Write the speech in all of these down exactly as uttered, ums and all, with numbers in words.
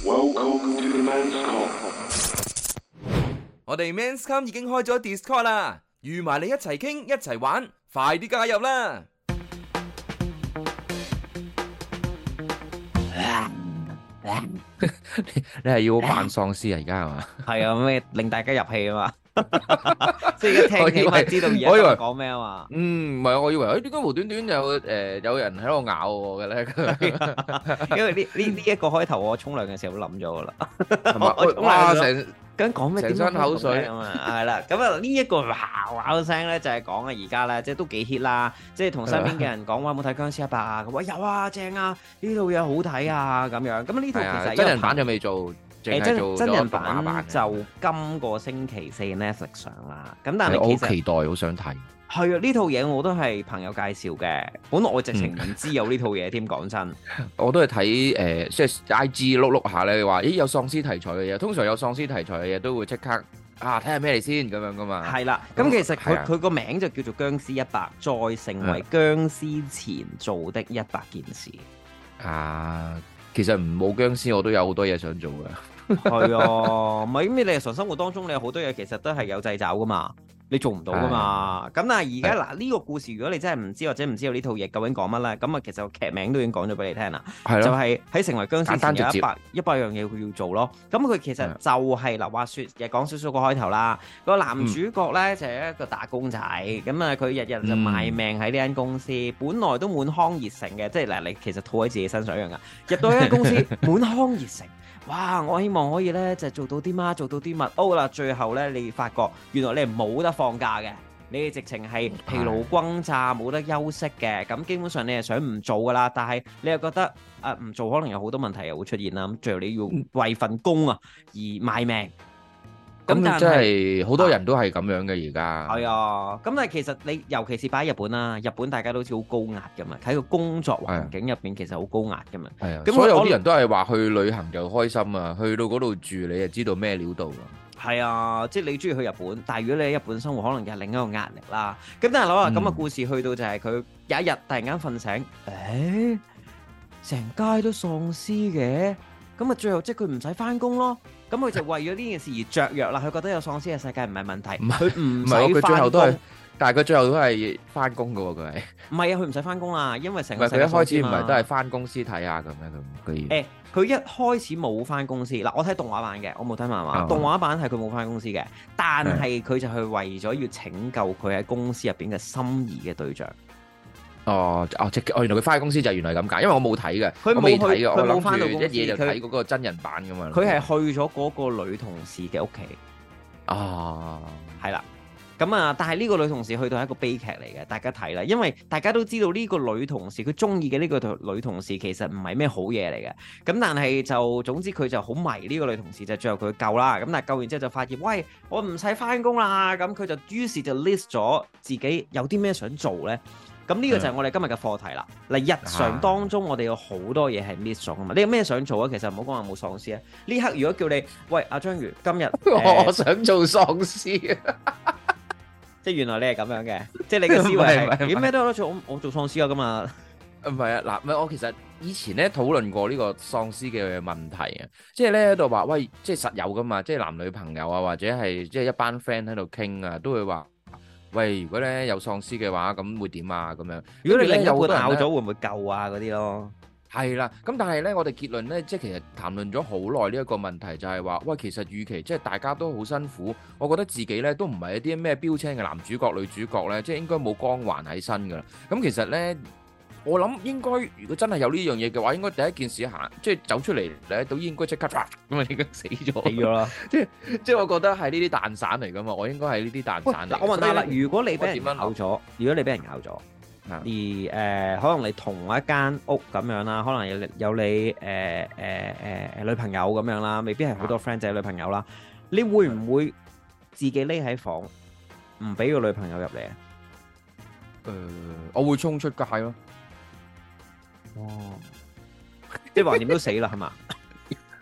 Welcome to the Men's Come。 我哋 Men's Come 已經開咗 Discord 啦，預埋你一齊傾一齊玩，快啲加入啦！ 你係要扮喪屍啊？而家係嘛？ 係啊，咩令大家入戲啊嘛？即係一聽起碼知道而家講咩啊嘛？ 嗯，唔係，我以為誒點解無端端有誒有人喺度咬我嘅咧？ 因為呢呢呢一個開頭我沖涼嘅時候都諗咗噶啦， 我哇成咁講咩？ 成身口水啊嘛，係啦。咁啊呢一個嘩嘩聲咧就係講啊而家咧即係都幾 hit 啦，即係同身邊嘅人講話有冇睇僵屍一百啊？咁話有啊，正啊，呢套嘢好睇啊咁樣。咁呢套其實真人版就未做。 誒真真人版就今個星期四 Netflix 上啦，咁但係我好期待，好想睇。 係啊，呢套嘢我都係朋友介紹嘅，本來我直情唔知有呢套嘢添，講真。 我都係睇誒，即係 I G 碌碌下咧，話咦有喪屍題材嘅嘢，通常有喪屍題材嘅嘢都會即刻啊睇下咩嚟先咁樣噶嘛。係啦， 咁其實佢佢個名就叫做僵屍一百，再成為僵屍前做的一百件事。 啊，其實唔冇僵屍，我都有好多嘢想做噶。 係啊，唔係咁你日常生活當中你有好多嘢其實都係有掣肘噶嘛，你做唔到噶嘛。咁但係而家嗱呢個故事，如果你真係唔知或者唔知道呢套嘢究竟講乜咧，咁啊其實個劇名都已經講咗俾你聽啦，就係喺成為僵屍前有一百一百樣嘢佢要做咯。咁佢其實就係嗱話説，又講少少個開頭啦。個男主角咧就係一個打工仔，咁啊佢日日就賣命喺呢間公司，本來都滿腔熱誠嘅，即係嗱你其實套喺自己身上一樣噶。入到呢間公司滿腔熱誠。哇！我希望可以咧就做到啲乜，做到啲乜。哦啦，最後咧你發覺原來你係冇得放假嘅，你哋直情係疲勞轟炸，冇得休息嘅。咁基本上你係想唔做噶啦，但係你又覺得啊唔做可能有好多問題又會出現啦。咁最後你要為份工啊而賣命。 咁但係好多人都係咁樣嘅而家。 係啊，咁但係其實你尤其是擺喺日本啦，日本大家都好似好高壓㗎嘛，喺個工作環境入邊其實好高壓㗎嘛。 係啊，咁所有啲人都係話去旅行就開心啊，去到嗰度住你就知道咩料到㗎。係啊，即係你中意去日本，但係如果你喺日本生活，可能又係另一個壓力啦。咁但係攞話咁嘅故事去到就係佢有一日突然間瞓醒，誒，成街都喪屍嘅，咁啊最後即係佢唔使返工咯。咁佢就為咗呢件事而雀躍啦，佢覺得有喪屍嘅世界唔係問題，佢唔使佢最後都係返工， 但係佢最後都係翻工㗎喎，佢係唔係啊？佢唔使返工啦，因為成個佢一開始唔係都係翻公司睇下咁樣咁嘅嘢。 誒，佢一開始冇翻公司嗱，我睇動畫版嘅，我冇睇漫畫。動畫版係佢冇翻公司嘅，但係佢就係為咗要拯救佢喺公司入邊嘅心儀嘅對象。 哦，哦，即係，哦，原來佢翻去公司就係原來咁解，因為我冇睇嘅， 佢冇睇嘅， 我冇翻到公司， 一嘢就睇嗰個真人版噶嘛。 佢係去咗嗰個女同事嘅屋企。 啊， 係啦，咁啊，但係呢個女同事去到係一個悲劇嚟嘅，大家睇啦，因為大家都知道呢個女同事佢中意嘅呢個女同事其實唔係咩好嘢嚟嘅，咁但係就總之佢就好迷呢個女同事，就最後佢救啦，咁但係救完之後就發現，喂，我唔使翻工啦，咁佢就於是就 list 咗自己有啲咩想做呢。咁呢個就係我哋今日嘅課題啦。嗱，日常當中我哋有好多嘢係 miss 咗噶嘛。你有咩想做啊？其實唔好講話冇喪屍啊。呢刻如果叫你，喂，阿章魚，今日我想做喪屍啊！ 即係原來你係咁樣嘅，即係你嘅思維係點咩都有得做。我我做喪屍啊，咁啊， 唔係啊，嗱，唔係我其實以前咧討論過呢個喪屍嘅問題啊，即係咧喺度話，喂，即係實有噶嘛，即係男女朋友啊，或者係即係一班 friend 喺度傾啊，都會話。喂，如果咧有喪屍嘅話，咁會點啊？咁樣， 如果你另一半咬咗，會唔會救啊？嗰啲咯， 係啦。咁但係咧，我哋結論咧，即係其實談論咗好耐呢一個問題，就係話，喂，其實與其即係大家都好辛苦，我覺得自己咧都唔係一啲咩標青嘅男主角、女主角咧，即係應該冇光環喺身噶啦。咁其實咧。我諗應該，如果真係有呢樣嘢嘅話，應該第一件事行，即係走出嚟咧，都應該即刻咁啊，應該死咗， 死咗啦！ 即係即係，我覺得係呢啲蛋散嚟噶嘛，我應該係呢啲蛋散嚟。 我問下啦，如果你俾人咬咗，如果你俾人咬咗，而誒、呃、可能你同一間屋咁樣啦，可能有有你誒誒誒誒女朋友咁樣啦，未必係好多 friend 仔女朋友啦，你會唔會自己匿喺房，唔俾個女朋友入嚟啊？ 誒、呃，我會衝出街咯。 哦，即係橫掂都死啦，係嘛？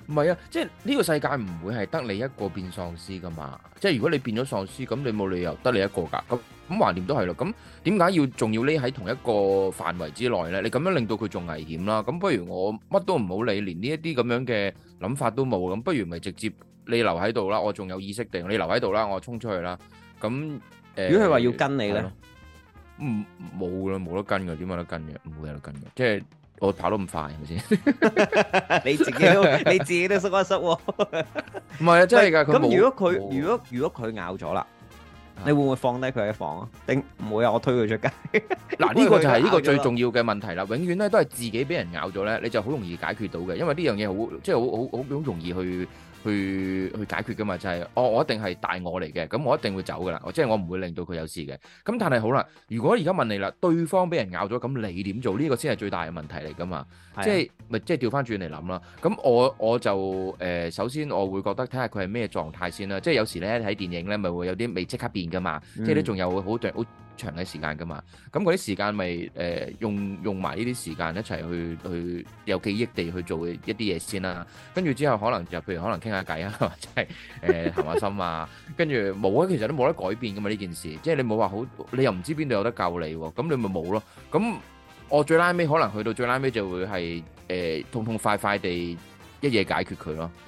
唔係啊，即係呢個世界唔會係得你一個變喪屍噶嘛。即係如果你變咗喪屍，咁你冇理由得你一個㗎。咁咁橫掂都係咯。咁點解要仲要匿喺同一個範圍之內咧？你咁樣令到佢仲危險啦。咁不如我乜都唔好理，連呢一啲咁樣嘅諗法都冇。咁不如咪直接你留喺度啦。我仲有意識定你留喺度啦。我衝出去啦。咁誒， 如果佢話要跟你咧， 唔冇啦，冇得跟嘅，點有得跟嘅？唔會有得跟嘅，即係。我跑得咁快係咪先？你自己都你自己都縮一縮喎。唔係啊，真係㗎。 咁如果佢如果如果佢咬咗啦，你會唔會放低佢喺房啊？定唔會啊？我推佢出街。嗱，呢個就係呢個最重要嘅問題啦。永遠咧都係自己俾人咬咗咧，你就好容易解決到嘅，因為呢樣嘢好即係好好好好容易去。去去解決噶嘛，就係、是、哦，我一定係大我嚟嘅，咁我一定會走噶啦，即係我唔會令到佢有事嘅。咁但係好啦，如果而家問你啦，對方俾人咬咗，咁你點做？呢、這個先係最大嘅問題嚟噶嘛，的即係咪即係調翻轉嚟諗啦？咁我我就誒、呃，首先我會覺得睇下佢係咩狀態先啦。即係有時咧睇電影咧，咪會有啲未即刻變噶嘛，嗯、即係都仲有好長好長嘅時間噶嘛。咁嗰啲時間咪誒用用埋呢啲時間一齊去去有記憶地去做一啲嘢先啦。跟住之後可能就譬如可能傾下偈啊，或者係誒談下心啊，跟住冇啊，其實都冇得改變噶嘛呢件事，即係你冇話好，你又唔知邊度有得救你喎，咁你咪冇咯。咁我最拉尾可能去到最拉尾就會係誒痛痛快快地一嘢解決佢咯。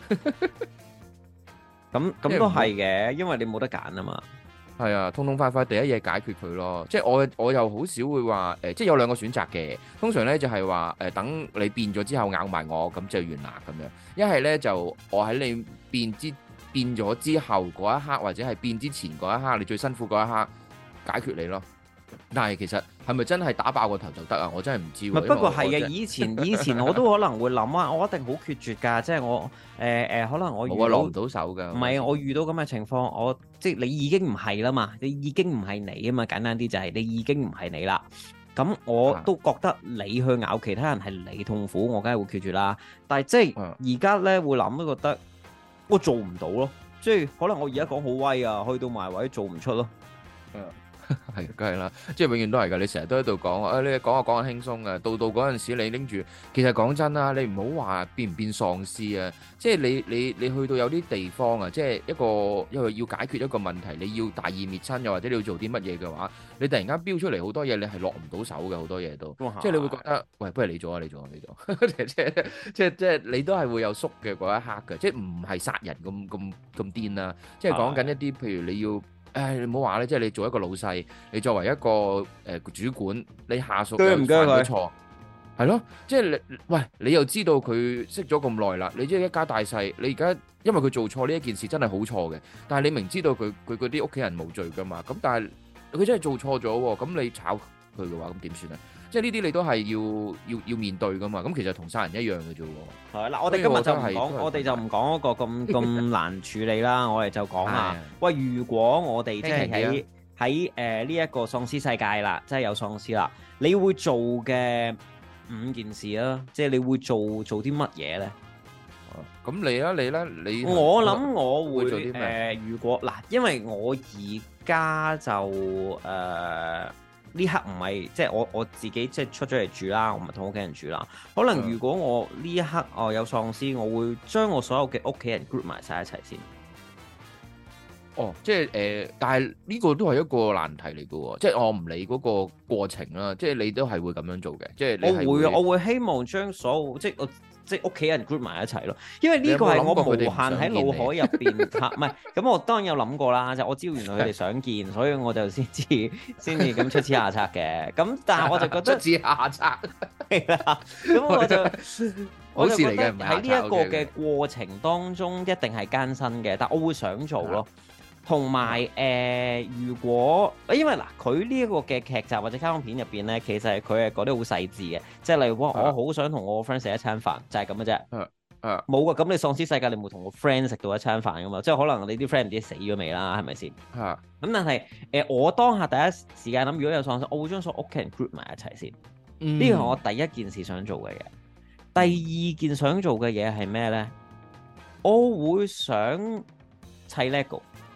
咁咁都係嘅，因為你冇得揀啊嘛。係啊，痛痛快快第一嘢解決佢咯，即係我我又好少會話誒、呃，即係有兩個選擇嘅。通常咧就係話誒，等你變咗之後咬埋我，咁就完啦咁樣。一係咧就我喺你變之變咗之後嗰一刻，或者係變之前嗰一刻，你最辛苦嗰一刻解決你咯。但係其實係咪真係打爆個頭就得啊？我真係唔知。不過係嘅，以前以前我都可能會諗啊，我一定好決絕㗎，即係我誒誒、呃呃，可能我遇到攞唔到手㗎。唔係，我遇到咁嘅情況，我即係你已經唔係啦嘛，你已經唔係你啊嘛，簡單啲就係你已經唔係你啦。咁我都覺得你去咬其他人係你痛苦，我梗係會決絕啦。但係即係而家咧會諗都覺得我做唔到咯，即係可能我而家講好威啊，去到埋位做唔出咯。嗯。係，梗係啦，即係永遠都係噶。你成日都喺度講啊，你講下講下輕鬆啊，到到嗰陣時你拎住，其實講真啦，你唔好話變唔變喪屍啊，即係你你你去到有啲地方啊，即係一個因為要解決一個問題，你要大義滅親，又或者你要做啲乜嘢嘅話，你突然間飆出嚟好多嘢，你係落唔到手嘅好多嘢都，即係你會覺得，喂，不如你做啊，你做啊，你做啊，即係即係即係即係你都係會有縮嘅嗰一刻嘅，即係唔係殺人咁咁咁癲啦，即係講緊一啲譬如你要。誒，你唔好話咧，即係你做一個老細，你作為一個誒、呃、主管，你下屬又犯咗錯，係咯，即係你喂，你又知道佢識咗咁耐啦，你即係一家大細，你而家因為佢做錯呢一件事真係好錯嘅，但係你明知道佢佢嗰啲屋企人冇罪噶嘛，咁但係佢真係做錯咗喎，咁你炒佢嘅話，咁點算啊？即係呢啲你都係要要要面對噶嘛，咁其實同殺人一樣嘅啫喎。係嗱，我哋今日就唔講，我哋就唔講嗰個咁咁難處理啦，我哋就講下，喂，如果我哋即係喺喺誒呢一個喪屍世界啦，即係有喪屍啦，你會做嘅五件事啦，即係你會做做啲乜嘢咧？咁你啦，你啦，你我諗我會做啲咩？誒，如果嗱，因為我而家就誒。呢刻唔係即係我我自己即係出咗嚟住啦，我唔係同屋企人住啦。可能如果我呢一刻哦有喪屍，我會將我所有嘅屋企人 group 埋晒一齊先。哦，即係誒、呃，但係呢個都係一個難題嚟嘅喎，即係我唔理嗰個過程啦，即係你都係會咁樣做嘅，即係你係會，我會我會希望將所有即係我。即係屋企人 group 埋一齊咯，因為呢個係我無限喺腦海入邊嚇，唔係咁我當然有諗過啦，就我知道原來佢哋想見，所以我就先至先至咁出此下策嘅。咁但係我就覺得出此下策係啦，咁我就我就覺得喺呢一個嘅過程當中一定係艱辛嘅，但我會想做咯。同埋誒，如果因為嗱，佢呢一個嘅劇集或者卡通片入邊咧，其實佢係講得好細緻嘅，即係例如我我好想同我個 friend 食一餐飯，就係咁嘅啫。嗯嗯，冇噶，咁你喪屍世界你冇同個 friend 食到一餐飯噶嘛？即係可能你啲 friend 唔知死咗未啦，係咪先？係。咁但係誒，我當下第一時間諗，如果有喪屍，我會將所有屋企人 group 埋一齊先。呢個係我第一件事想做嘅嘢。第二件想做嘅嘢係咩咧？我會想砌 Lego。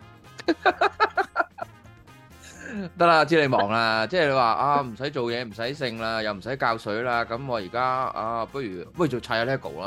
得啦，知你忙啦，即係你話啊，唔使做嘢，唔使剩啦，又唔使教水啦，咁我而家啊，不如不如做砌下 Lego 啦。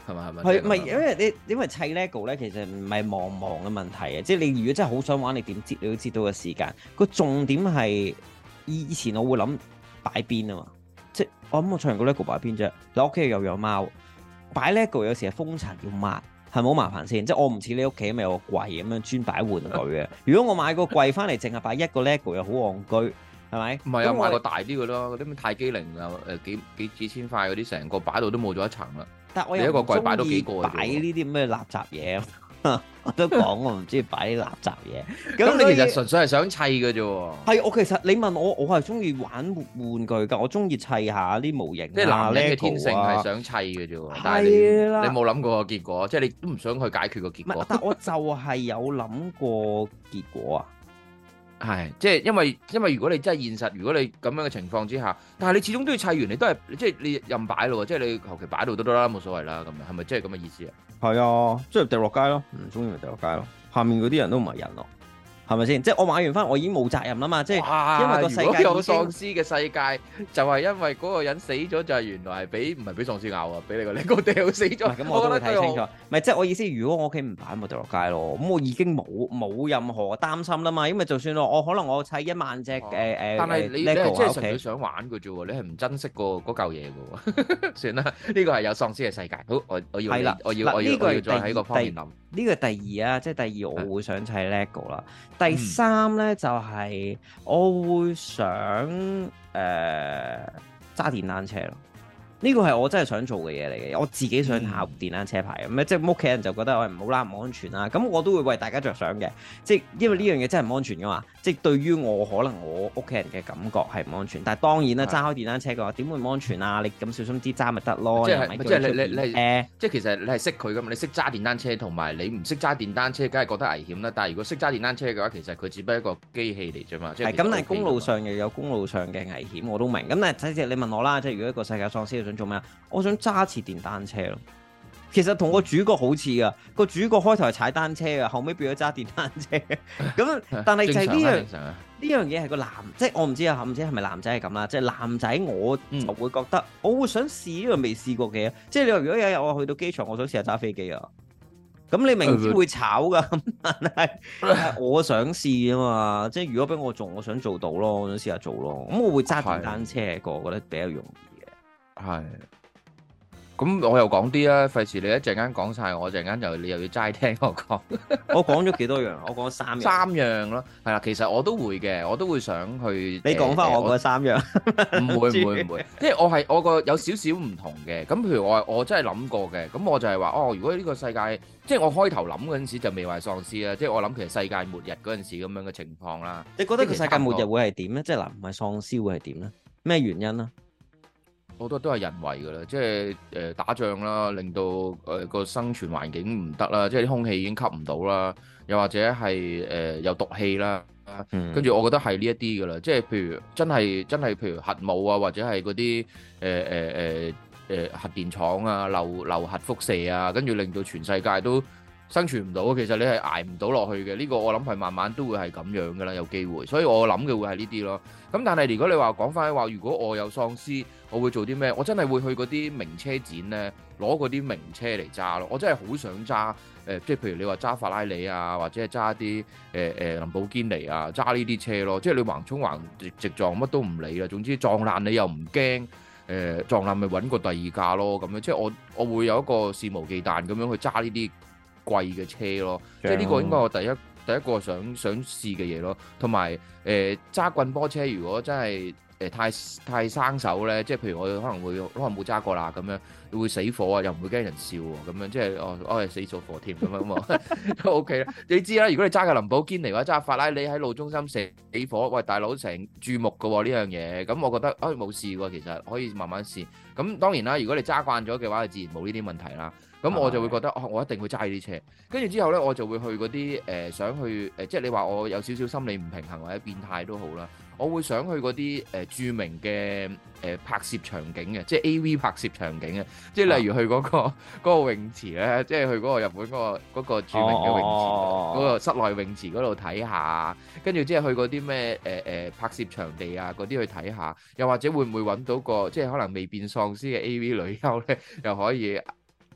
係咪係咪？ 係咪因為你因為砌 LEGO 咧，其實唔係忙唔忙嘅問題啊！即係你如果真係好想玩，你點知你都知道個時間。個重點係以前我會諗擺邊啊嘛，即係我諗我砌完個 LEGO 擺邊啫。你屋企又有貓，擺 LEGO 有時係風塵要抹，係咪好麻煩先？即係我唔似你屋企咪有個櫃咁樣專擺玩具嘅。如果我買個櫃翻嚟，淨係擺一個 LEGO 又好戇居，係咪？ 唔係啊，買個大啲嘅咯，嗰啲咩泰姬陵啊，誒幾幾幾千塊嗰啲，成個擺到都冇咗一層啦。 但我又一個櫃擺到幾個擺呢啲咩垃圾嘢，我都講我唔中意擺啲垃圾嘢。 咁你其實純粹係想砌嘅啫喎。 係，我其實你問我，我係中意玩玩具㗎，我中意砌下啲模型。 即係男人嘅天性係想砌嘅啫喎。但係你你冇諗過個結果，即係你都唔想去解決個結果。 但我就係有諗過結果啊。 係，即係因為因為如果你真係現實，如果你咁樣嘅情況之下，但係你始終都要砌完，你都係即係你任擺咯，即係你求其擺到都得啦，冇所謂啦，咁樣係咪即係咁嘅意思啊？係啊，即係掉落街咯，唔中意咪掉落街咯。下面嗰啲人都唔係人咯，係咪先？即係我買完翻，我已經冇責任啦嘛。即係因為個世界已經有喪屍嘅世界，就係因為嗰個人死咗，就係原來係俾唔係俾喪屍咬啊，俾你個你個掉死咗。 咁我都會睇清楚。唔係即係我意思，如果我屋企唔擺，咪掉落街咯。咁我已經冇冇任何擔心啦嘛。因為就算我我可能我砌一萬隻誒誒， 但係你你係真係純粹想玩嘅啫喎，你係唔珍惜個嗰嚿嘢嘅喎。算啦，呢個係有喪屍嘅世界。好，我我要我要我要我要再喺個方面諗。呢個第二啊，即係第二，我會想砌 LEGO 啦。第三咧就係我會想誒揸電單車咯。呢個係我真係想做嘅嘢嚟嘅，我自己想考電單車牌咁咧，嗯、即係屋企人就覺得我唔好啦，唔安全啦，咁我都會為大家着想嘅，即係因為呢樣嘢真係唔安全噶嘛，即係對於我可能我屋企人嘅感覺係唔安全，但係當然啦，揸開電單車嘅話點會唔安全啊？你咁小心啲揸咪得咯，即係即係你你你誒，即係其實你係識佢噶嘛，你識揸電單車同埋你唔識揸電單車，梗係覺得危險啦。但係如果識揸電單車嘅話，其實佢只不過一個機器嚟啫嘛。係咁，但係公路上又有公路上嘅危險，我都明。咁但係即係你問我啦，即係如果一個世界喪屍想做咩啊？我想揸次電單車咯。其實同個主角好似噶，個主角開頭係踩單車噶，後尾變咗揸電單車。咁但係就係呢樣呢樣嘢係個男，即係我唔知啊，唔知係咪男仔係咁啦。即係男仔我就會覺得，嗯、我會想試呢個未試過嘅嘢。即係你話如果有一日我去到機場，我想試下揸飛機啊。咁你明知會炒噶，但係我想試啊嘛。即係如果俾我做，我想做到咯，我想試下做咯。咁我會揸電單車個，我覺得比較容易嘅。係。咁我又講啲啦，費事你一陣間講晒，我陣間就你又要齋聽我講。我講咗幾多樣？我講三樣。三樣咯，係啦。其實我都會嘅，我都會想去。你講翻我嗰三樣。唔會唔會唔會，即係我係我個有少少唔同嘅。咁譬如我我真係諗過嘅，咁我就係話哦，如果呢個世界，即係我開頭諗嗰陣時就未話喪屍啦，即係我諗其實世界末日嗰陣時咁樣嘅情況啦。你覺得個世界末日會係點咧？即係嗱，唔係喪屍會係點咧？咩原因咧？好多都係人為㗎啦，即係誒、呃、打仗啦，令到誒個、呃、生存環境唔得啦，即係啲空氣已經吸唔到啦，又或者係誒、呃、有毒氣啦，跟住、嗯、我覺得係呢一啲㗎啦，即係譬如真係真係譬如核武啊，或者係嗰啲誒誒誒誒核電廠啊，漏漏核輻射啊，跟住令到全世界都生存唔到，其實你係捱唔到落去嘅。呢、呢個我諗係慢慢都會係咁樣㗎啦，有機會。所以我諗嘅會係呢啲咯。咁但係如果你話講翻話，如果我有喪屍，我會做啲咩？我真係會去嗰啲名車展咧，攞嗰啲名車嚟揸咯。我真係好想揸誒、呃，即係譬如你話揸法拉利啊，或者係揸啲誒誒林寶堅尼啊，揸呢啲車咯。即係你橫衝橫直直撞乜都唔理啦。總之撞爛你又唔驚，誒、呃、撞爛咪揾個第二架咯。咁樣即係我我會有一個肆無忌憚咁樣去揸呢啲貴嘅車咯，即係呢個應該我第一第一個想想試嘅嘢咯，同埋誒揸棍波車，如果真係誒、呃、太太生手咧，即係譬如我可能會可能冇揸過啦，咁樣會死火啊，又唔會驚人笑喎，咁樣即係哦哦死咗火添咁樣咁啊都 OK 啦。你知啦，如果你揸嘅林寶堅尼或者揸法拉利喺路中心死火，喂大佬成注目嘅喎呢樣嘢，咁我覺得啊冇事喎，其實可以慢慢試。咁當然啦，如果你揸慣咗嘅話，就自然冇呢啲問題啦。咁我就會覺得哦，我一定會揸呢啲車。跟住之後咧，我就會去嗰啲誒想去誒、呃，即係你話我有少少心理唔平衡或者變態都好啦。我會想去嗰啲誒著名嘅誒、呃、拍攝場景嘅，即係 A V 拍攝場景嘅，即係例如去嗰、嗰個嗰個泳池咧，即係去嗰個日本嗰、嗰個嗰個著名嘅泳池，嗰、哦、個室內泳池嗰度睇下。跟住之後去嗰啲咩誒誒拍攝場地啊嗰啲去睇下，又或者會唔會揾到個即係可能未變喪屍嘅 A V 女優咧，又可以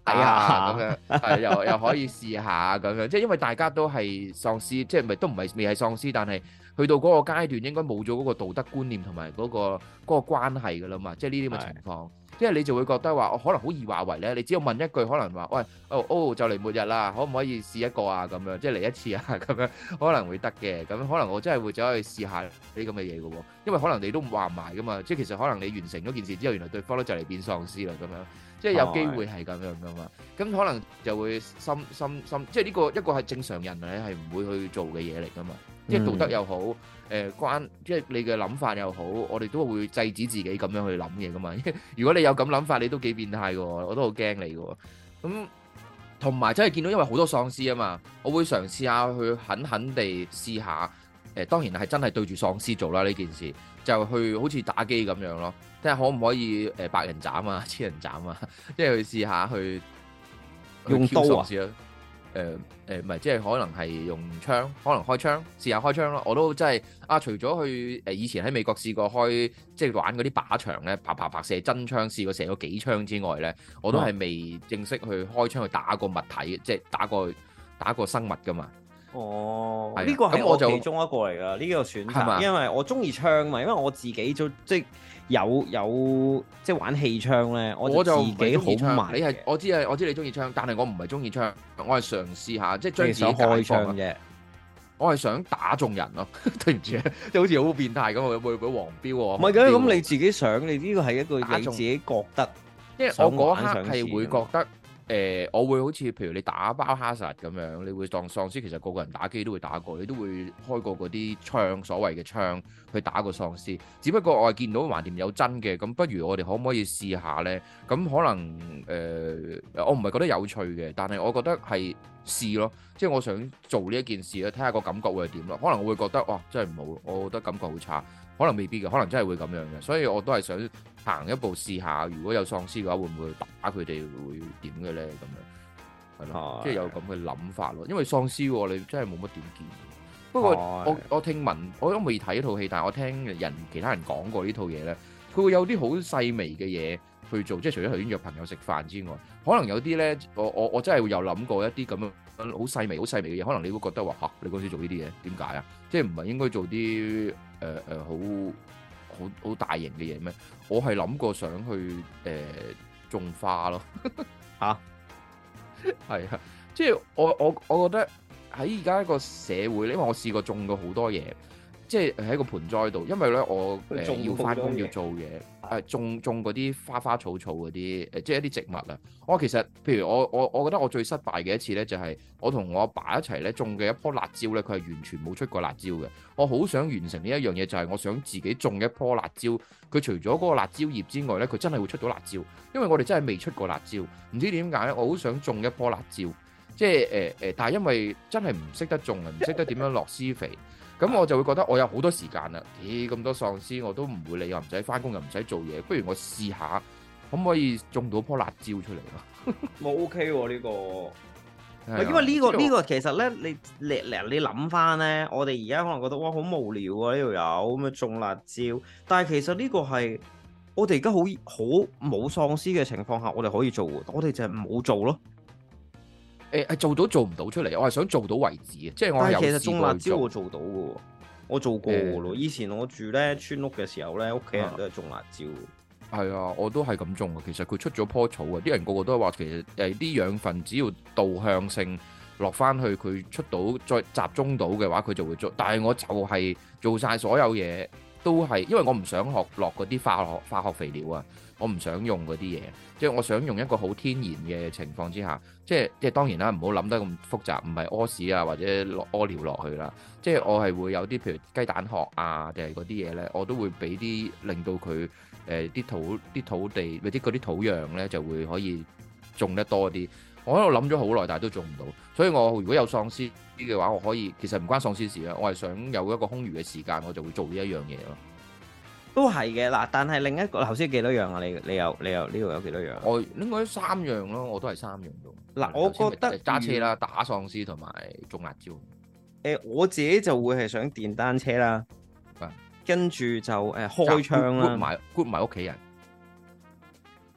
啊咁樣，係又又可以試下咁樣，即係因為大家都係喪屍，即係咪都唔係未係喪屍，但係去到嗰個階段應該冇咗嗰個道德觀念同埋嗰個嗰個關係㗎啦嘛，即係呢啲咁嘅情況。即係你就會覺得話，我可能好易話為咧，你只要問一句，可能話，喂，哦哦，就嚟末日啦，可唔可以試一個啊？咁樣，即係嚟一次啊？咁樣可能會得嘅，咁可能我真係會走去試下呢啲咁嘅嘢嘅喎，因為可能你都話唔埋噶嘛，即係其實可能你完成咗件事之後，原來對方都就嚟變喪屍啦，咁樣，即係有機會係咁樣噶嘛，咁可能就會心心心，即係呢個一個係正常人咧係唔會去做嘅嘢嚟噶嘛。即係道德又好，誒、呃、關，即係你嘅諗法又好，我哋都會制止自己咁樣去諗嘢噶嘛。如果你有咁諗法，你都幾變態嘅喎，我都好驚你嘅喎。咁同埋真係見到，因為好多喪屍啊嘛，我會嘗試下去狠狠地試下。誒、呃、當然係真係對住喪屍做啦呢件事，就去好似打機咁樣咯，睇下可唔可以誒百人斬啊、千人斬啊，即係去試下去用刀啊。 誒誒唔係，即係可能係用槍，可能開槍試下開槍咯。我都真係啊，除咗去誒、呃、以前喺美國試過開，即係玩嗰啲靶場咧，啪啪啪射真槍，試過射咗幾槍之外咧，我都係未正式去開槍去打個物體，即係打個打個生物噶嘛。哦，呢個係我其中一個嚟㗎，呢個選擇，因為我中意槍嘛，因為我自己就即係有有即係玩氣槍咧，我就自己好慢。你係我知啊，我知你中意槍，但係我唔係中意槍，我係嘗試下即係將自己開槍啫。我係想打中人咯，對唔住啊，即係好似好變態咁，會會會黃標喎。唔係嘅，咁你自己想，你呢個係一個你自己覺得，因為我嗰刻係會覺得。誒、呃，我會好似譬如你打包哈薩咁樣，你會當喪屍，其實個個人打機都會打過，你都會開過嗰啲槍，所謂嘅槍去打個喪屍。只不過我係見到橫掂有真嘅，咁不如我哋可唔可以試下呢？咁可能誒、呃，我唔係覺得有趣嘅，但係我覺得係試咯，即係我想做呢一件事咧，睇下個感覺會係點咯。可能我會覺得哇，真係唔好，我覺得感覺好差。可能未必嘅，可能真係會咁樣嘅，所以我都係想行一步試下，如果有喪屍嘅話，會唔會打佢哋會點嘅咧？咁樣係咯，即係有咁嘅諗法咯。因為喪屍你真係冇乜點見。不過我我聽聞，我都未睇呢套戲，但係我聽人其他人講過呢套嘢咧，佢會有啲好細微嘅嘢去做，即係除咗頭先約朋友食飯之外，可能有啲咧，我我我真係會有諗過一啲咁樣好細微、好細微嘅嘢，可能你會覺得話嚇，你嗰時做呢啲嘢點解啊？即係唔係應該做啲？誒誒，好好好大型嘅嘢咩？我係諗過想去誒、呃、種花咯，嚇，係啊，即係我我我覺得喺而家一個社會，因為我試過種過好多嘢，即係喺個盆栽度，因為咧我誒、呃、要翻工要做嘢，誒種種嗰啲花花草草嗰啲誒，即係一啲植物啊。我其實譬如我我我覺得我最失敗嘅一次咧，就係我同我阿爸一齊咧種嘅一棵辣椒咧，佢係完全冇出過辣椒嘅。我好想完成呢一樣嘢，就係我想自己種一棵辣椒，佢除咗嗰個辣椒葉之外咧，佢真係會出到辣椒。因為我哋真係未出過辣椒，唔知點解咧，我好想種一棵辣椒，即係誒誒，但係因為真係唔識得種啊，唔識得點樣落施肥。咁我就會覺得我有好多時間啦，咦咁多喪屍我都唔會理，又唔使翻工又唔使做嘢，不如我試下可唔可以種到棵辣椒出嚟咯？ 冇 OK 喎呢個，係因為呢個呢個其實咧，你你你諗翻咧，我哋而家可能覺得哇好無聊啊呢度有咁樣種辣椒，但係其實呢個係我哋而家好好冇喪屍嘅情況下，我哋可以做，我哋就係唔好做咯。 誒係做到做唔到出嚟，我係想做到為止嘅，即係我係有試過做。但係其實種辣椒我做到嘅，我做過嘅咯。以前我住咧村屋嘅時候咧，屋企人都係種辣椒。係啊，我都係咁種嘅。其實佢出咗棵草啊，啲人個個都話其實誒啲養分只要導向性落翻去，佢出到再集中到嘅話，佢就會做。但係我就係做晒所有嘢，都係因為我唔想學落嗰啲化學化學肥料啊。我唔想用嗰啲嘢，即係我想用一個好天然嘅情況之下，即係即係當然啦，唔好諗得咁複雜，唔係屙屎啊或者落屙尿落去啦，即係我係會有啲譬如雞蛋殼啊定係嗰啲嘢咧，我都會俾啲令到佢誒啲土啲土地或者嗰啲土壤咧就會可以種得多啲。我喺度諗咗好耐，但係都種唔到，所以我如果有喪屍嘅話，我可以其實唔關喪屍事啊，我係想有一個空餘嘅時間，我就會做呢一樣嘢咯。 都係嘅嗱，但係另一個頭先幾多樣啊？你你有你有呢度有幾多樣？ 我應該三樣咯，我都係三樣咯。 嗱，我覺得揸車啦、打喪屍同埋種辣椒。 誒，我自己就會係想電單車啦，跟住就誒開槍啦， 埋 group 埋屋企人。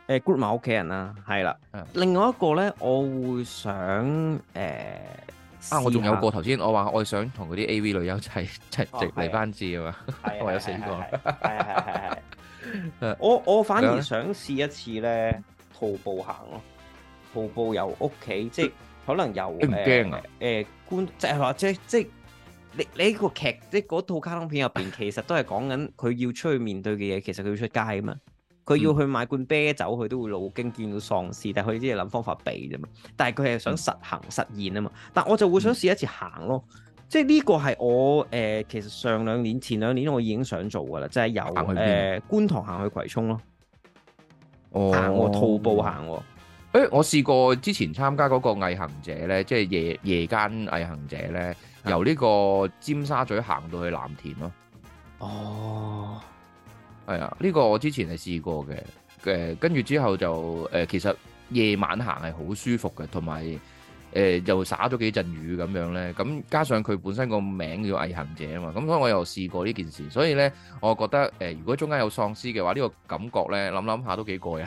誒 group 埋屋企人啦，係啦。 嗯另外一個咧，我會想誒、呃、 啊，我仲有個試下頭先，我話我想同嗰啲 A V 女優一齊齊哦直嚟班字啊嘛， 係我有四個。 係係係係。 誒我我反而想試一次咧，徒步行咯。徒步由屋企，即係可能由你唔驚啊？ 誒觀，即係或者即係你你呢個劇，即係嗰套卡通片入邊，其實都係講緊佢要出去面對嘅嘢，其實佢要出街啊嘛。佢要去買罐啤酒，佢都會路經見到喪屍，但係佢只係諗方法避啫嘛。但係佢係想實行實現啊嘛。但我就會想試一次行咯，即係呢個係我誒、呃、其實上兩年、前兩年我已經想做噶啦，就係、是、由誒、呃、觀塘行去葵涌咯。 哦， 行喎，徒步行喎。 誒，我試過之前參加嗰個毅行者咧，即係夜夜間毅行者咧，由呢個尖沙咀行到去藍田咯。 哦。 係啊，呢個我之前係試過嘅，誒跟住之後就誒其實夜晚行係好舒服嘅，同埋誒又灑咗幾陣雨咁樣咧，咁加上佢本身個名叫毅行者啊嘛，咁所以我又試過呢件事，所以咧我覺得誒如果中間有喪屍嘅話，呢個感覺咧諗諗下都幾過癮。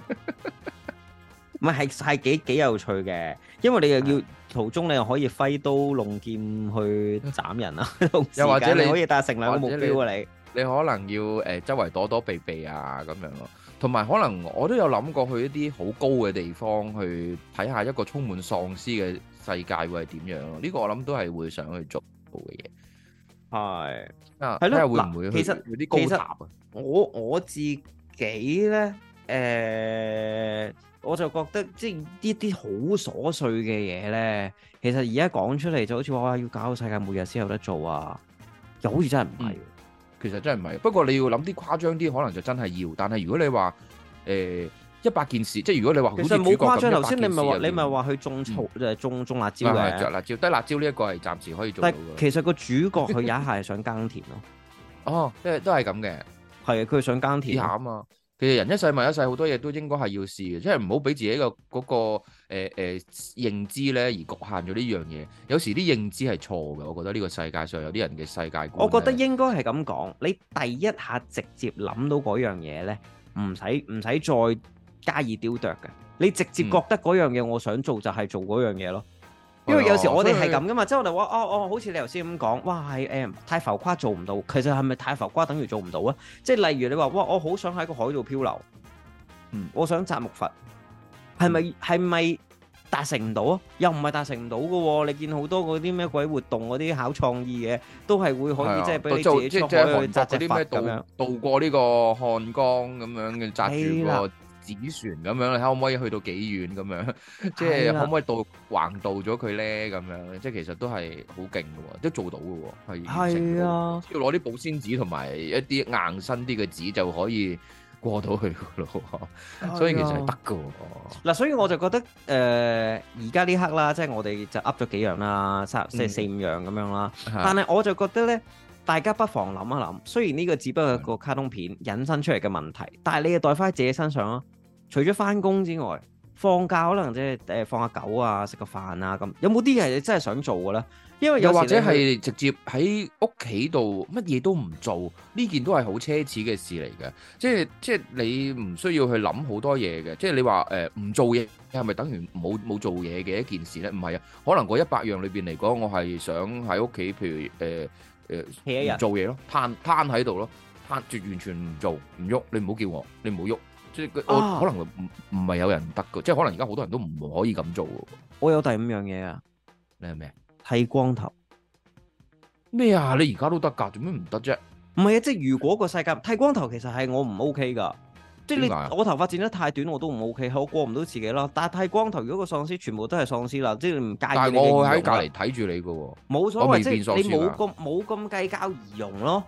唔係係係幾幾有趣嘅，因為你又要途中你又可以揮刀弄劍去斬人啊， 又或者你可以達成兩個目標啊你。 你可能要誒、呃、周圍躲躲避避啊咁樣咯，同埋可能我都有諗過去一啲好高嘅地方去睇下一個充滿喪屍嘅世界會係點樣咯。呢、這個我諗都係會想去做嘅嘢。 係啊， 係咯， 睇下會唔會去其實啲高塔啊？ 我我自己咧誒、呃，我就覺得即係呢啲好瑣碎嘅嘢咧，其實而家講出嚟就好似話要搞到世界末日先有得做啊，又好似真係唔係。嗯其實真係唔係，不過你要諗啲誇張啲，可能就真係要。但係如果你話誒一百件事，即係如果你話好似主角咁， 其實冇誇張。頭先你咪話你咪話去種草誒種種辣椒嘅， 着辣椒低辣椒呢一個係暫時可以做到嘅。 但其實個主角佢有一下係想耕田咯。 哦，即係都係咁嘅， 係啊，佢想耕田下啊嘛。其實人一世物一世，好多嘢都應該係要試嘅，即係唔好俾自己個嗰個誒誒認知咧而局限咗呢樣嘢。有時啲認知係錯嘅，我覺得呢個世界上有啲人嘅世界觀。 我覺得應該係咁講，你第一下直接諗到嗰樣嘢咧，唔使唔使再加以雕琢嘅，你直接覺得嗰樣嘢我想做就係做嗰樣嘢咯。因為有時我哋係咁噶嘛，即係我哋話哦哦，好似你頭先咁講，哇係誒太浮誇做唔到，其實係咪太浮誇等於做唔到啊？即係例如你話哇，我好想喺個海度漂流，嗯，我想摘木筏，係咪係咪達成唔到啊？又唔係達成唔到嘅喎，你見好多嗰啲咩鬼活動嗰啲考創意嘅，都係會可以即係俾你自己出海去摘隻筏咁樣， 渡過呢個漢江咁樣嘅紮住個紙船咁樣，你睇可唔可以去到幾遠咁樣？即係可唔可以渡橫渡咗佢咧？咁樣即係其實都係好勁嘅喎，都做到嘅喎，係係啊！ 要攞啲保鮮紙同埋一啲硬身啲嘅紙就可以過到去嘅咯，所以其實係得嘅喎。 嗱，所以我就覺得誒，而家呢刻啦，即係我哋就噏咗幾樣啦，三即係四五樣咁樣啦。但係我就覺得咧，大家不妨諗一諗，雖然呢個只不過係個卡通片引申出嚟嘅問題，但係你又代翻喺自己身上咯。除咗翻工之外，放假可能即係誒放下狗啊，食個飯啊咁，有冇啲嘢你真係想做嘅咧？因為有又或者係直接喺屋企度乜嘢都唔做，呢件都係好奢侈嘅事嚟嘅。即係即係你唔需要去諗好多嘢嘅。即係你話誒唔做嘢係咪等於冇冇做嘢嘅一件事咧？唔係啊，可能嗰一百樣裏邊嚟講，我係想喺屋企，譬如誒誒唔做嘢咯，攤攤喺度咯，攤住完全唔做唔喐，你唔好叫我，你唔好喐。即係我、啊、可能唔唔係有人得嘅，即係可能而家好多人都唔可以咁做。 我有第五樣嘢啊， 你係咩？ 剃光頭咩啊？你而家都得㗎，做咩唔得啫？ 唔係啊，即係如果個世界剃光頭，其實係我唔 OK 㗎。即係你我頭髮剪得太短，我都唔 OK，我過唔到自己咯。但係剃光頭，如果個喪屍全部都係喪屍啦，即係你唔介意。但係我喺隔離睇住你㗎喎，冇所謂，即係你冇咁冇咁計較儀容咯。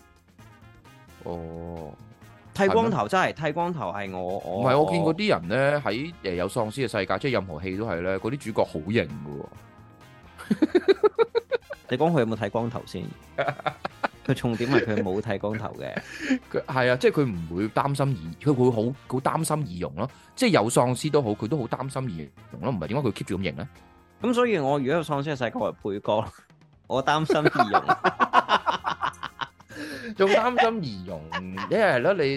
哦。 剃光頭真係剃光頭係我我唔係我見過啲人咧喺誒有喪屍嘅世界，即係任何戲都係咧，嗰啲主角好型嘅喎。 你講佢有冇剃光頭先？佢重點係佢冇剃光頭嘅。 佢係啊，即係佢唔會擔心儀，佢會好好擔心儀容咯。即係有喪屍都好，佢都好擔心儀容咯。唔係點解佢 keep 住咁型咧？ 咁所以我如果有喪屍嘅世界，我係配角，我擔心儀容。 仲擔心儀容，一係咯，你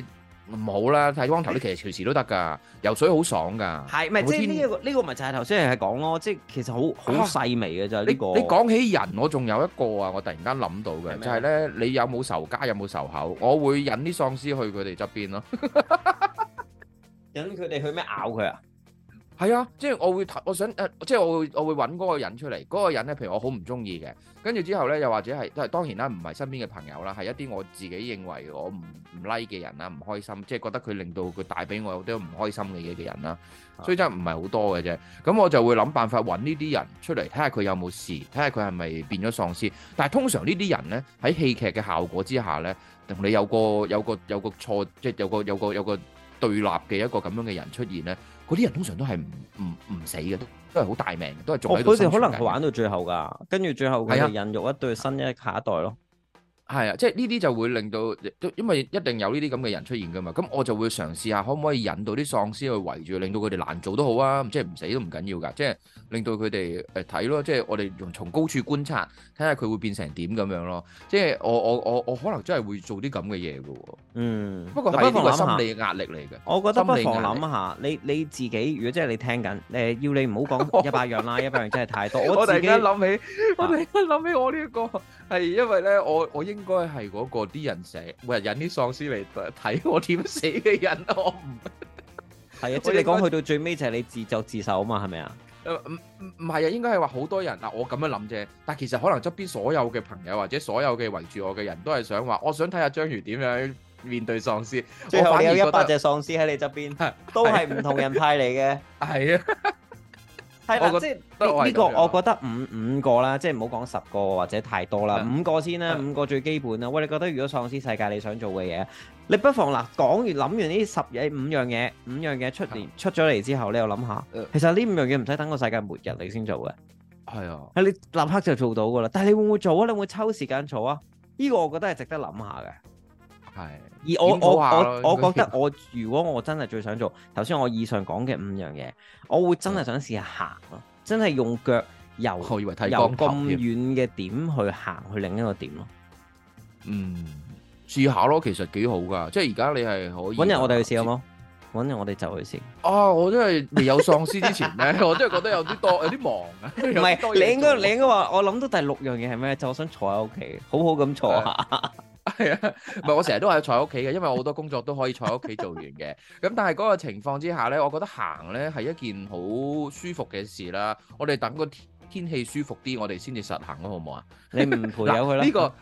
唔好啦，剃光頭你其實隨時都得㗎，游水好爽㗎。 係咪即係呢一個呢個咪就係頭先係講咯，即係其實好好細微嘅就係呢個。 你你講起人，我仲有一個啊，我突然間諗到嘅就係咧，你有冇仇家有冇仇口？我會引啲喪屍去佢哋側邊咯。 引佢哋去咩咬佢啊？ 係啊，即係我會，我想誒，即係我會，我會揾嗰個人出嚟。嗰個人咧，譬如我好唔中意嘅，跟住之後咧，又或者係，都係當然啦，唔係身邊嘅朋友啦，係一啲我自己認為我唔唔 like 嘅人啦，唔開心，即係覺得佢令到佢帶俾我有啲唔開心嘅嘢嘅人啦。所以真係唔係好多嘅啫。咁我就會諗辦法揾呢啲人出嚟，睇下佢有冇事，睇下佢係咪變咗喪屍。但係通常呢啲人咧，喺戲劇嘅效果之下咧，同你有個有個有個錯，即係有個有個有個對立嘅一個咁樣嘅人出現咧。嗰啲人通常都係唔唔唔死嘅，都都係好大命，都係仲喺度。 佢哋可能係玩到最後㗎，跟住最後佢哋孕育一對新一下一代咯。係啊，即係呢啲就會令到，因為一定有呢啲咁嘅人出現㗎嘛。咁我就會嘗試下可唔可以引到啲喪屍去圍住，令到佢哋難做都好啊。即係唔死都唔緊要㗎，即係令到佢哋誒睇咯。即係我哋用從高處觀察，睇下佢會變成點咁樣咯。即係我我我我可能真係會做啲咁嘅嘢㗎喎。 嗯， 不過係呢個心理壓力嚟嘅。 我覺得不妨諗下，你你自己如果真係你聽緊，誒要你唔好講一百樣啦，一百樣真係太多。我突然間諗起，我突然間諗起我呢一個係因為咧，我我應該係嗰個啲人成日每日引啲喪屍嚟睇我點死嘅人，我唔係啊，即係你講去到最尾就係你自作自受啊嘛，係咪啊？ 誒唔唔唔係啊，應該係話好多人嗱，我咁樣諗啫。但係其實可能側邊所有嘅朋友或者所有嘅圍住我嘅人都係想話，我想睇下章魚點樣面對喪屍。 最後你有一百隻喪屍喺你側邊，都係唔同人派嚟嘅。 係啊。 係啦，即係呢呢個，我覺得五五個啦，即係唔好講十個或者太多啦，五個先啦，五個最基本啦。喂，你覺得如果喪屍世界你想做嘅嘢，你不妨嗱講完諗完呢十嘢五樣嘢，五樣嘢出嚟出咗嚟之後，你又諗下，其實呢五樣嘢唔使等個世界末日你先做嘅，係啊，係你立刻就做到噶啦。但係你會唔會做啊？你會唔會抽時間做啊？呢個我覺得係值得諗下嘅。係，而我我我我覺得我如果我真係最想做頭先我以上講嘅五樣嘢，我會真係想試下行咯，真係用腳由我以為睇由咁遠嘅點去行去另一個點咯。 嗯，試下咯，其實幾好噶，即係而家你係可以。搵日我哋去試好冇？搵日我哋就去試。 啊，我真係未有喪屍之前咧，我真係覺得有啲多，有啲忙啊。唔係，你應該你應該話，我諗到第六樣嘢係咩？就我想坐喺屋企，好好咁坐下。 係啊，唔係我成日都係坐喺屋企嘅，因為我好多工作都可以坐喺屋企做完嘅。咁但係嗰個情況之下咧，我覺得行咧係一件好舒服嘅事啦。我哋等個天氣舒服啲，我哋先至實行咯，好唔好啊？ 你唔陪有佢啦。 呢個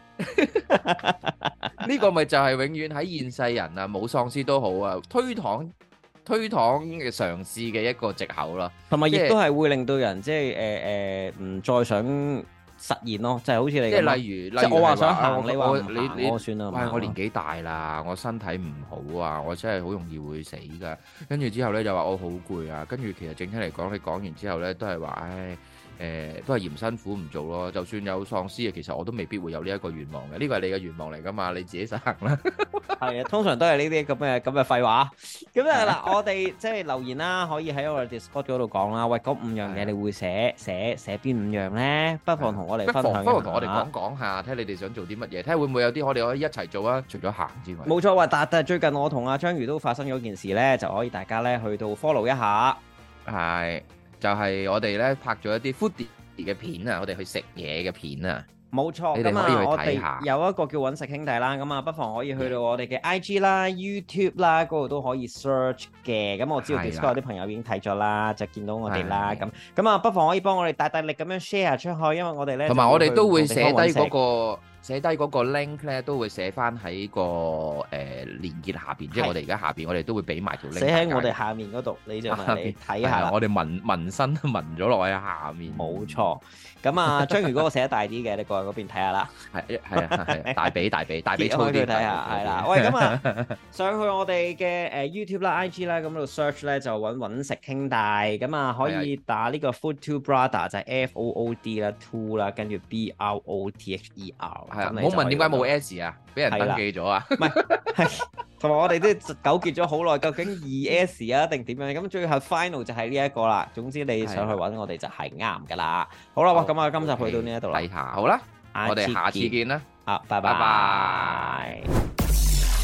呢個咪就係永遠喺現世人啊，冇喪屍都好啊，推搪推搪嘅嘗試嘅一個藉口啦。同埋亦都係會令到人即係誒誒唔再想實現咯，就係好似你即係例如，即係我話想行，你話你你我算啦。喂，我年紀大啦，我身體唔好啊，我真係好容易會死噶。跟住之後咧就話我好攰啊。跟住其實整體嚟講，你講完之後咧都係話，唉，誒，都係嫌辛苦唔做咯。就算有喪屍啊，其實我都未必會有呢一個願望嘅。呢個係你嘅願望嚟噶嘛，你自己實行啦。係啊，通常都係呢啲咁嘅咁嘅廢話。咁啊嗱，我哋即係留言啦，可以喺我哋 Discord 嗰度講啦。喂，嗰五樣嘢你會寫寫寫邊五樣咧？不妨同我哋分享一下。不妨同我哋講講下，睇下你哋想做啲乜嘢，睇下會唔會有啲我哋可以一齊做啊？除咗行之外，冇錯。喂，但但係最近我同阿章魚都發生咗件事咧，就可以大家咧去到 follow 一下。係，就係我哋咧拍咗一啲 foodie 嘅片啊，我哋去食嘢嘅片啊。冇錯，咁啊，我哋有一個叫揾食兄弟啦，咁啊，不妨可以去到我哋嘅 I G 啦、YouTube 啦，嗰度都可以 search 嘅。咁我知道 Discord 有啲朋友已經睇咗啦，就見到我哋啦。咁咁啊，不妨可以幫我哋大大力咁樣 share 出去，因為我哋咧同埋我哋都會寫低嗰個寫低嗰個 link 咧，都會寫翻喺個誒連結下邊，即係我哋而家下邊，我哋都會俾埋條 link。寫喺我哋下面嗰度，你就嚟睇下啦。我哋紋紋身紋咗落去下面。冇錯。咁啊，章魚嗰個寫得大啲嘅，你過去嗰邊睇下啦。係係啊係，大髀大髀大髀粗啲睇下，係啦。喂，咁啊，上去我哋嘅誒 YouTube 啦、I G 啦，咁度 search 咧就揾揾食兄弟，咁啊可以打呢個 Food Two Brother 就係 F O O D 啦 ，Two 啦，跟住 B R O T H E R。係啊，唔好問點解冇 S 啊，俾人登記咗啊。唔係，係同埋我哋都糾結咗好耐，究竟二 S 啊定點樣？咁最後 final 就係呢一個啦。總之你上去揾我哋就係啱噶啦。好啦，咁啊，今集去到呢一度啦。睇下，好啦，我哋下次見啦。啊，拜拜拜。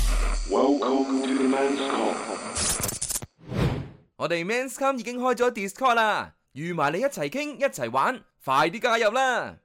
Welcome to the Men's Come。 我哋 Men's Come 已經開咗 Discord 啦，預埋你一齊傾一齊玩，快啲加入啦！